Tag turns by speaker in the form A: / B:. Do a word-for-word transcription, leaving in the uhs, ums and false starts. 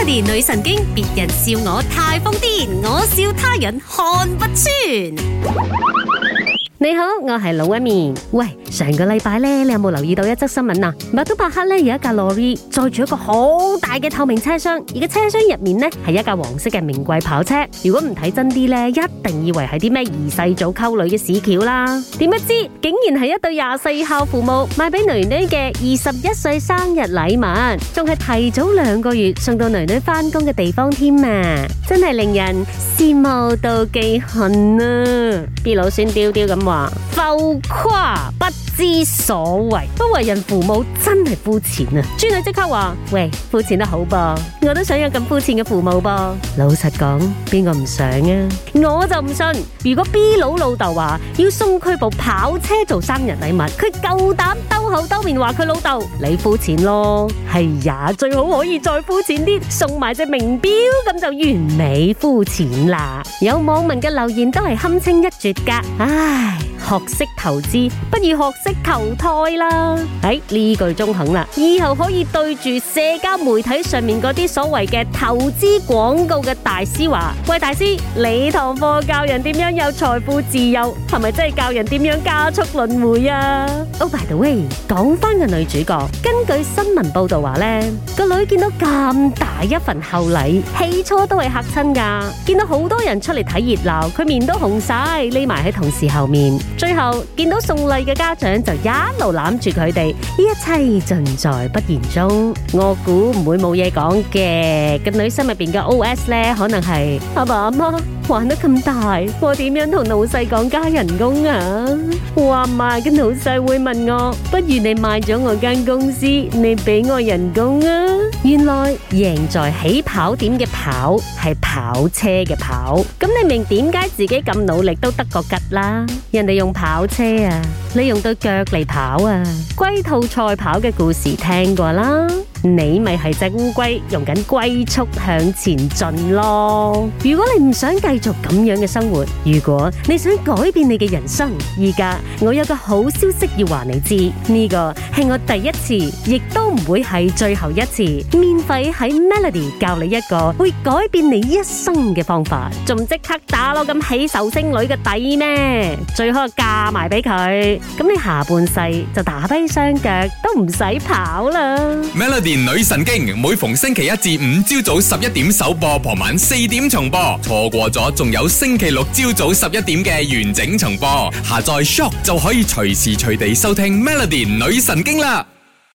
A: Melody 女神經，別人笑我太瘋癲，我笑他人看不穿。你好，我係老一面。喂，上個禮拜咧，你有冇留意到一則新聞啊？麥都伯克咧有一架 lorry 載住一個好大嘅透明車廂，而個車廂入面咧係一架黃色嘅名貴跑車。如果唔睇真啲咧，一定以為係啲咩二世祖溝女嘅屎橋啦。點不知竟然係一對廿四孝父母買俾囡囡嘅二十一歲生日禮物，仲係提早兩個月送到囡囡翻工嘅地方添啊！真係令人羨慕妒忌恨啊！B 佬孫雕雕咁話浮誇不知所謂，不為人父母真係膚淺啊！豬女即刻話：喂，膚淺得好噃，我都想有咁膚淺嘅父母噃。老實講，邊個唔想啊？我就唔信，如果 B 佬老豆話要送佢部跑車做生日禮物，佢夠膽兜口兜面話佢老豆你膚淺咯。係呀，最好可以再膚淺啲，送埋隻名錶，咁就完美膚淺啦。有網民嘅留言都係堪稱一絕噶，唉。學識投資不如學識投胎啦！喺呢句中肯啦，以後可以對住社交媒體上面嗰啲所謂嘅投資廣告嘅大師話：喂，大師，你堂課教人點樣有財富自由，係咪真係教人點樣加速輪迴啊？ Oh by the way， 講翻個女主角，根據新聞報道話呢，個女見到咁大一份厚禮，起初都係嚇親噶，見到好多人出嚟睇熱鬧，佢面都紅晒，匿埋喺同事後面。最後見到送禮嘅家長就一路攬住佢哋，一切盡在不言中。我估唔會冇嘢講嘅。個女心入邊嘅 O S 呢，可能係阿爸阿媽玩得咁大，我點樣同老細講加人工啊？話埋個老細會問我，不如你賣咗我間公司，你俾我人工啊？原來贏在起跑點嘅跑係跑車嘅跑，咁你明點解自己咁努力都得個吉啦？人哋用跑車啊，你用對腳嚟跑啊！龜兔賽跑嘅故事聽過啦，你咪係隻烏龜用緊龜速向前進咯。如果你唔想繼續咁樣嘅生活，如果你想改變你嘅人生，而家我有個好消息要話你知，呢個係我第一次，亦都唔會係最後一次，免費喺 Melody 教你一個會改變你一生嘅方法，仲即刻打攞咁起壽星女嘅底咩？最好嫁埋俾佢，咁你下半世就打跛雙腳都唔使跑啦。
B: Melody 女神經每逢星期一至五朝早十一點首播，傍晚四點重播，錯過咗仲有星期六朝早十一點嘅完整重播。下載 Shock 就可以隨時隨地收聽 Melody 女神經啦。